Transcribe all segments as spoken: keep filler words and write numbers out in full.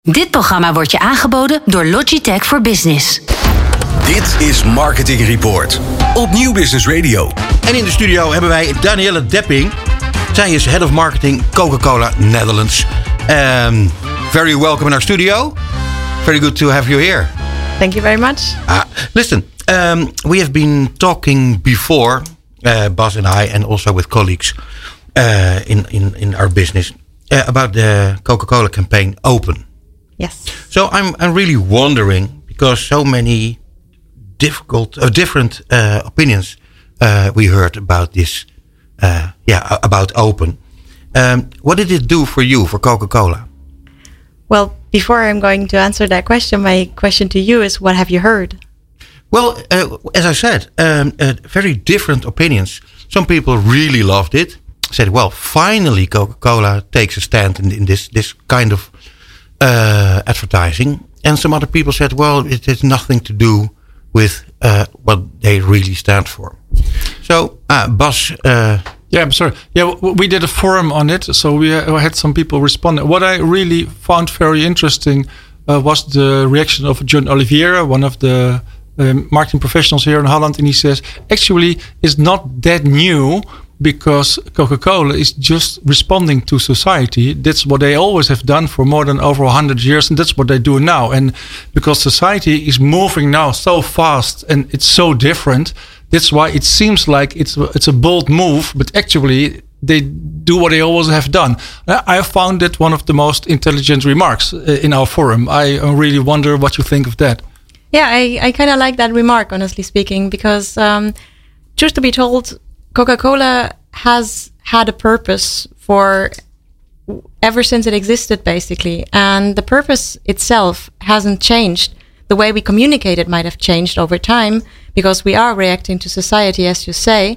Dit programma wordt je aangeboden door Logitech for Business. Dit is Marketing Report op Nieuw Business Radio. En in de studio hebben wij Danielle Depping. Zij is Head of Marketing Coca-Cola Netherlands. Um, very welcome in our studio. Very good to have you here. Thank you very much. Uh, listen, um, we have been talking before, uh, Bas and I, and also with colleagues uh, in, in, in our business, uh, about the Coca-Cola campaign Open. Yes. So I'm I'm really wondering, because so many difficult, uh, different uh, opinions uh, we heard about this, uh, yeah, about Open. Um, what did it do for you, for Coca-Cola? Well, before I'm going to answer that question, my question to you is, what have you heard? Well, uh, as I said, um, uh, very different opinions. Some people really loved it. Said, well, finally Coca-Cola takes a stand in, in this this kind of uh, advertising. And some other people said, well, it has nothing to do with uh, what they really stand for. So, uh, Bas... Uh, Yeah, I'm sorry. Yeah, we did a forum on it, so we had some people respond. What I really found very interesting uh, was the reaction of John Oliveira, one of the um, marketing professionals here in Holland, and he says, actually, it's not that new because Coca-Cola is just responding to society. That's what they always have done for more than over one hundred years, and that's what they do now. And because society is moving now so fast and it's so different, that's why it seems like it's it's a bold move, but actually they do what they always have done. I found that one of the most intelligent remarks in our forum. I really wonder what you think of that. Yeah, I, I kind of like that remark, honestly speaking, because um, truth to be told, Coca-Cola has had a purpose for ever since it existed, basically. And the purpose itself hasn't changed. The way we communicate it might have changed over time because we are reacting to society, as you say.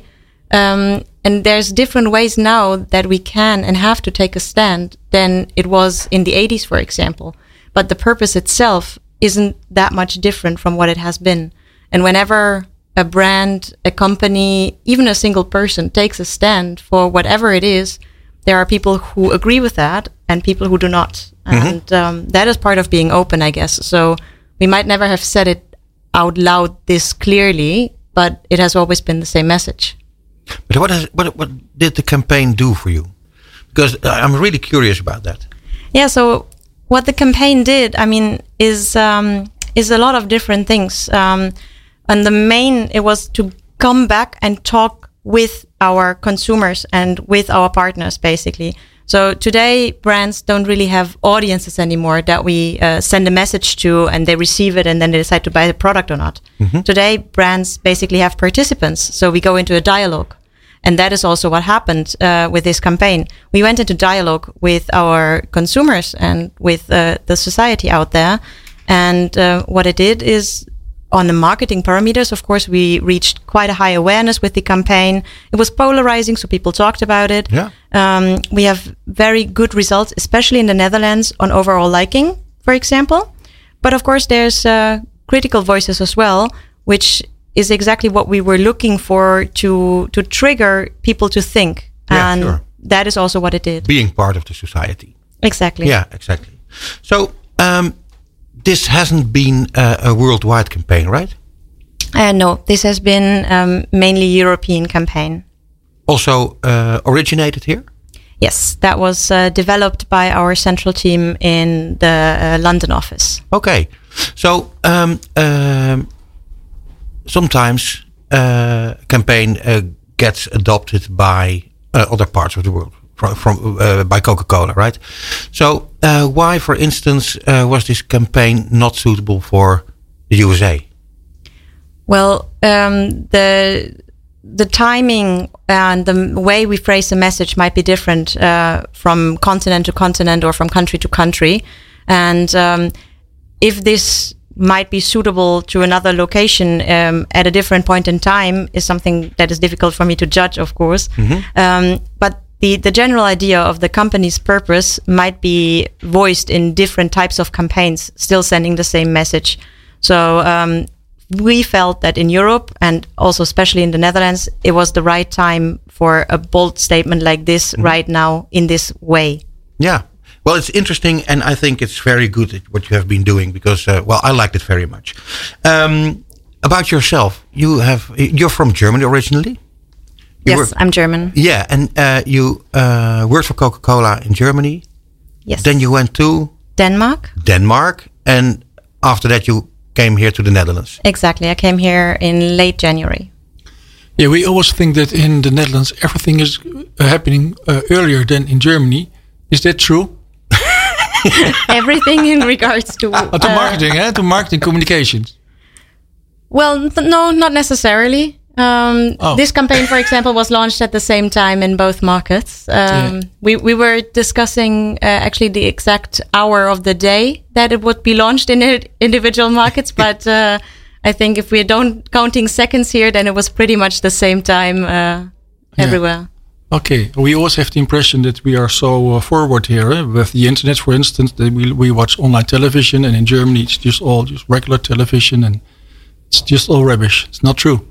Um, and there's different ways now that we can and have to take a stand than it was in the eighties, for example. But the purpose itself isn't that much different from what it has been. And whenever a brand, a company, even a single person takes a stand for whatever it is, there are people who agree with that and people who do not. Mm-hmm. And um, that is part of being open, I guess. So we might never have said it out loud this clearly, but it has always been the same message. But what, has, what, what did the campaign do for you? Because I'm really curious about that. Yeah, so what the campaign did, I mean, is um, is a lot of different things. Um, and the main, it was to come back and talk with our consumers and with our partners, basically. So today, brands don't really have audiences anymore that we uh, send a message to and they receive it and then they decide to buy the product or not. Mm-hmm. Today, brands basically have participants. So we go into a dialogue. And that is also what happened uh, with this campaign. We went into dialogue with our consumers and with uh, the society out there. And uh, what it did is, on the marketing parameters, of course, we reached quite a high awareness with the campaign. It was polarizing, so people talked about it. Yeah. Um, we have very good results, especially in the Netherlands, on overall liking, for example. But of course, there's uh, critical voices as well, which is exactly what we were looking for to to trigger people to think. Yeah, and sure. That is also what it did. Being part of the society. Exactly. Yeah, exactly. So, um, this hasn't been uh, a worldwide campaign, right? Uh, no, this has been um, mainly European campaign. Also uh, originated here? Yes, that was uh, developed by our central team in the uh, London office. Okay. So, um, um, sometimes uh, campaign uh, gets adopted by uh, other parts of the world. From, from uh, by Coca-Cola, right? So uh, why, for instance, uh, was this campaign not suitable for the U S A? Well, um, the the timing and the way we phrase the message might be different uh, from continent to continent or from country to country. And um, if this might be suitable to another location um, at a different point in time is something that is difficult for me to judge, of course. Mm-hmm. Um, but The, the general idea of the company's purpose might be voiced in different types of campaigns, still sending the same message. So um, we felt that in Europe and also especially in the Netherlands, it was the right time for a bold statement like this mm-hmm. right now in this way. Yeah. Well, it's interesting, and I think it's very good at what you have been doing because, uh, well, I liked it very much. Um, about yourself, you have you're from Germany originally. You yes, were, I'm German. Yeah, and uh, you uh, worked for Coca-Cola in Germany. Yes. Then you went to Denmark. Denmark, and after that you came here to the Netherlands. Exactly, I came here in late January. Yeah, we always think that in the Netherlands everything is uh, happening uh, earlier than in Germany. Is that true? Everything in regards to Uh, to uh, marketing, eh? To marketing communications. Well, th- no, not necessarily. Um, Oh. This campaign, for example, was launched at the same time in both markets. Um, Yeah. we, we were discussing uh, actually the exact hour of the day that it would be launched in i- individual markets, but uh, I think if we don't counting seconds here, then it was pretty much the same time uh, everywhere. Okay, we always have the impression that we are so uh, forward here eh? With the internet, for instance. That we we watch online television, and in Germany it's just all just regular television, and it's just all rubbish. It's not true.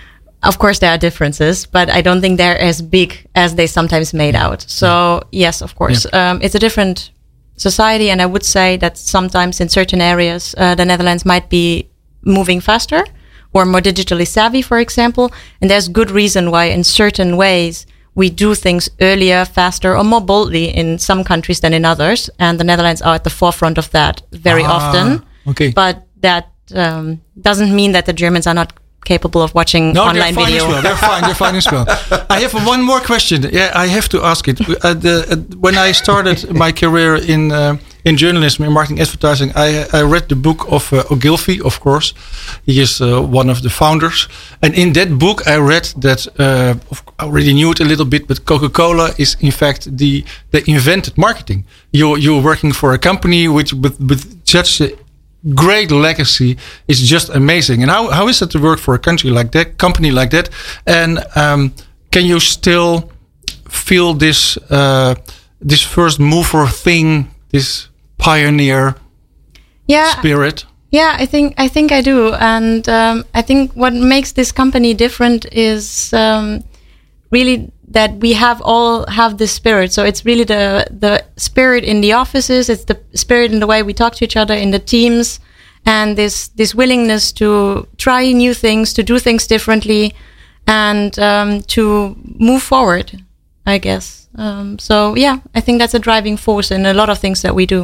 Of course, there are differences, but I don't think they're as big as they sometimes made out. So, yes, of course, um, it's a different society. And I would say that sometimes in certain areas, uh, the Netherlands might be moving faster or more digitally savvy, for example. And there's good reason why in certain ways we do things earlier, faster, or more boldly in some countries than in others. And the Netherlands are at the forefront of that very Ah, often. okay. But that um, doesn't mean that the Germans are not capable of watching No, online they're fine video. as well. They're fine. They're fine as well. I have one more question. Yeah, I have to ask it. Uh, the, uh, when I started my career in uh, in journalism, in marketing, advertising, I I read the book of uh, Ogilvy. Of course, he is uh, one of the founders. And in that book, I read that uh, I already knew it a little bit, but Coca-Cola is in fact the they invented marketing. You you're working for a company which with with such a great legacy is just amazing. And how, how is it to work for a country like that, company like that? And um, can you still feel this uh, this first mover thing, this pioneer Yeah, spirit? yeah, I think I think I do, and um, I think what makes this company different is um, really that we have all have this spirit. So it's really the the spirit in the offices. It's the spirit in the way we talk to each other in the teams, and this this willingness to try new things, to do things differently, and um, to move forward, I guess. Um, so yeah, I think that's a driving force in a lot of things that we do.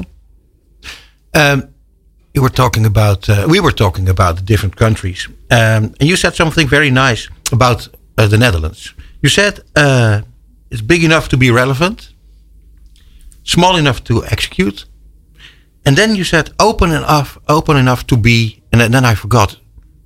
Um, you were talking about uh, we were talking about the different countries, um, and you said something very nice about uh, the Netherlands. You said uh, it's big enough to be relevant, small enough to execute, and then you said open enough, open enough to be, and then I forgot.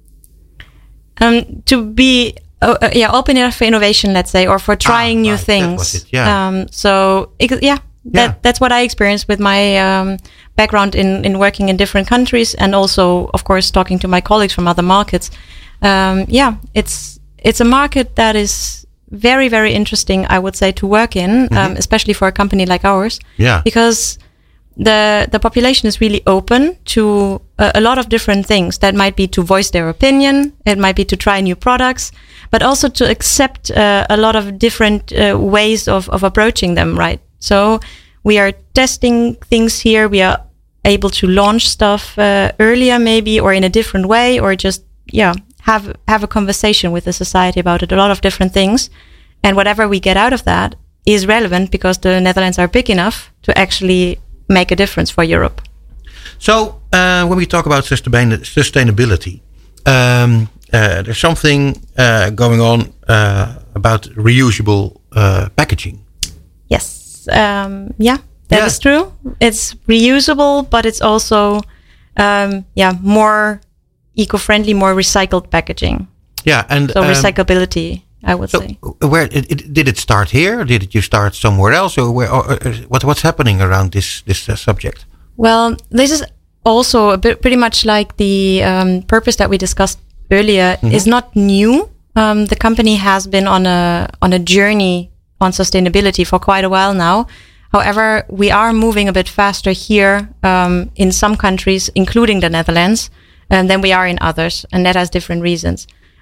Um, to be uh, uh, yeah open enough for innovation, let's say, or for trying Ah, new right, that things. was it, yeah. Um, so it, yeah, that Yeah. that's what I experienced with my um, background in in working in different countries, and also, of course, talking to my colleagues from other markets. Um, yeah, it's it's a market that is very, very interesting, I would say, to work in, Mm-hmm. um, especially for a company like ours. Yeah. Because the the population is really open to a, a lot of different things. That might be to voice their opinion. It might be to try new products, but also to accept uh, a lot of different uh, ways of, of approaching them, right? So we are testing things here. We are able to launch stuff uh, earlier maybe, or in a different way, or just, yeah, have have a conversation with the society about it, a lot of different things. And whatever we get out of that is relevant because the Netherlands are big enough to actually make a difference for Europe. So uh, when we talk about sustain- sustainability, um, uh, there's something uh, going on uh, about reusable uh, packaging. Yes, um, yeah, that Yeah. is true. It's reusable, but it's also, um, yeah, more eco-friendly, more recycled packaging. Yeah, and So um, recyclability, I would So, say. where it, it, did it start here? Or did it you start somewhere else, or where? Or, or, what what's happening around this this uh, subject? Well, this is also a bit pretty much like the um, purpose that we discussed earlier. Is not new. Um, the company has been on a on a journey on sustainability for quite a while now. However, we are moving a bit faster here um, in some countries, including the Netherlands, um, than we are in others, and that has different reasons.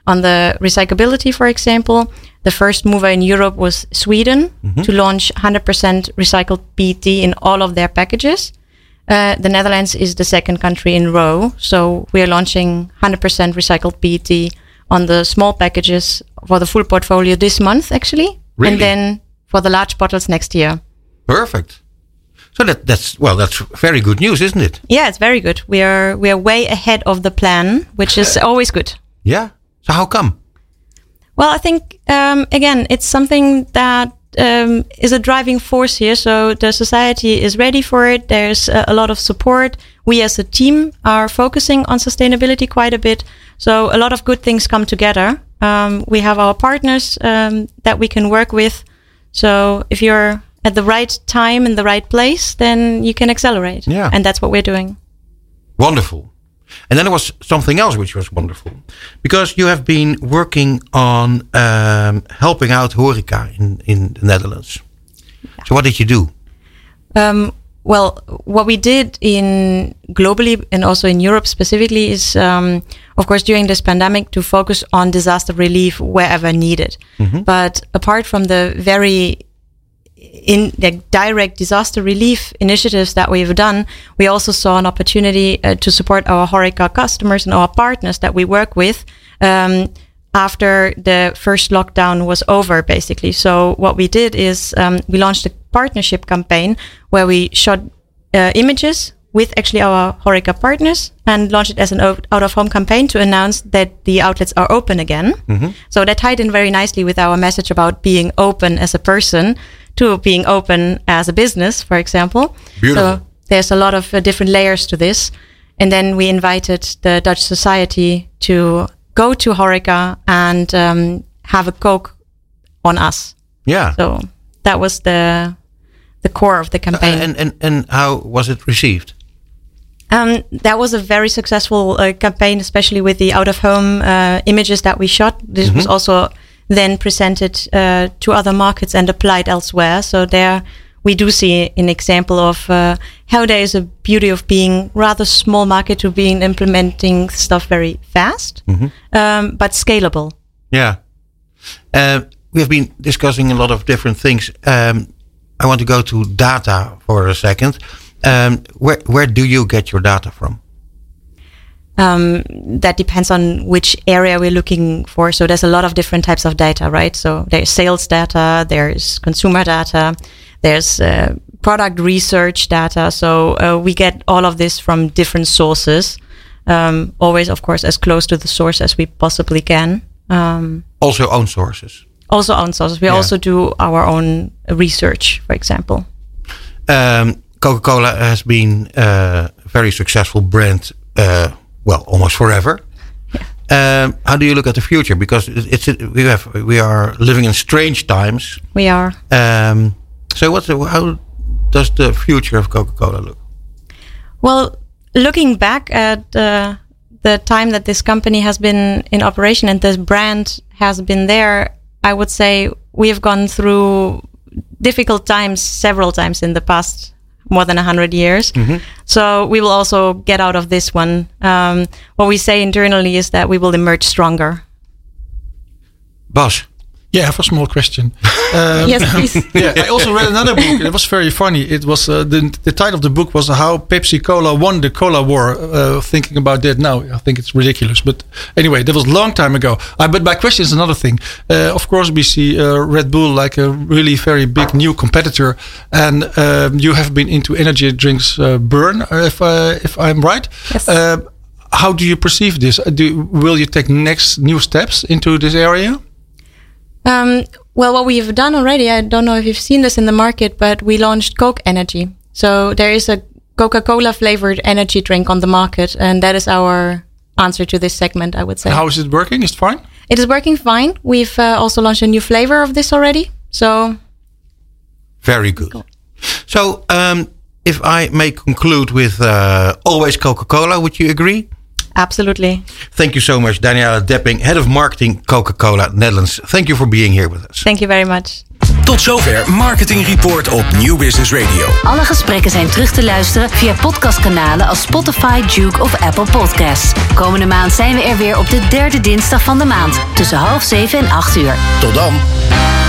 on the recyclability, for example, the first mover in Europe was Sweden mm-hmm. to launch one hundred percent recycled P E T in all of their packages. Uh, the Netherlands is the second country in row. So we are launching one hundred percent recycled P E T on the small packages for the full portfolio this month, actually. Really? And then for the large bottles next year. Perfect. So that, that's, well, that's very good news, isn't it? Yeah, it's very good. We are we are way ahead of the plan, which is always good. Yeah. So how come? Well, I think, um, again, it's something that um, is a driving force here. So the society is ready for it. There's a, a lot of support. We as a team are focusing on sustainability quite a bit. So a lot of good things come together. Um, we have our partners um, that we can work with. So if you're at the right time in the right place, then you can accelerate. Yeah. And that's what we're doing. Wonderful. And then there was something else which was wonderful. Because you have been working on um, helping out horeca in, in the Netherlands. Yeah. So what did you do? Um, well, what we did in globally and also in Europe specifically is, um, of course, during this pandemic to focus on disaster relief wherever needed. Mm-hmm. But apart from the very in the direct disaster relief initiatives that we've done, we also saw an opportunity uh, to support our HoReCa customers and our partners that we work with um, after the first lockdown was over, basically. So what we did is um, we launched a partnership campaign where we shot uh, images with actually our HoReCa partners and launched it as an out-of-home campaign to announce that the outlets are open again. Mm-hmm. So that tied in very nicely with our message about being open as a person to being open as a business, for example. Beautiful. So there's a lot of uh, different layers to this. And then we invited the Dutch Society to go to HoReCa and um, have a Coke on us. Yeah. So that was the the core of the campaign. Uh, and, and, and how was it received? Um, that was a very successful uh, campaign, especially with the out-of-home uh, images that we shot. This mm-hmm. was also then presented uh, to other markets and applied elsewhere. So there we do see an example of uh, how there is a beauty of being rather small market to being implementing stuff very fast, mm-hmm. um, but scalable. Yeah. Uh, we have been discussing a lot of different things. Um, I want to go to data for a second. Um, where where do you get your data from? Um, that depends on which area we're looking for. So there's a lot of different types of data, right? So there's sales data, there's consumer data, there's uh, product research data. So uh, we get all of this from different sources. Um, always, of course, as close to the source as we possibly can. Um, also own sources. Also own sources. We yeah. also do our own research, for example. Um, Coca-Cola has been a very successful brand, uh, well, almost forever. Yeah. Um, how do you look at the future? Because it's, it's we have we are living in strange times. We are. Um, so, what's the, how does the future of Coca-Cola look? Well, looking back at uh, the time that this company has been in operation and this brand has been there, I would say we have gone through difficult times several times in the past more than one hundred years. Mm-hmm. So we will also get out of this one. Um, what we say internally is that we will emerge stronger. Bas. Yeah, I have a small question. Um, yes, please. Yeah, I also read another book. It was very funny. It was uh, the the title of the book was How Pepsi Cola Won the Cola War. Uh, thinking about that now, I think it's ridiculous. But anyway, that was a long time ago. Uh, but my question is another thing. Uh, of course, we see uh, Red Bull like a really very big new competitor, and um, you have been into energy drinks, uh, Burn, if uh, if I'm right. Yes. Uh, how do you perceive this? Do will you take next new steps into this area? Um, well, what we've done already, I don't know if you've seen this in the market, but we launched Coke Energy. So there is a Coca-Cola flavored energy drink on the market, and that is our answer to this segment, I would say. And how is it working? Is it fine? It is working fine. We've uh, also launched a new flavor of this already. So very good. Cool. So um, if I may conclude with uh, always Coca-Cola, would you agree? Absolutely. Thank you so much, Daniela Depping, Head of Marketing, Coca-Cola Netherlands. Thank you for being here with us. Thank you very much. Tot zover Marketing Report op Nieuw Business Radio. Alle gesprekken zijn terug te luisteren via podcastkanalen als Spotify, Juke of Apple Podcasts. Komende maand zijn we er weer op de derde dinsdag van de maand. Tussen half zeven en acht uur. Tot dan.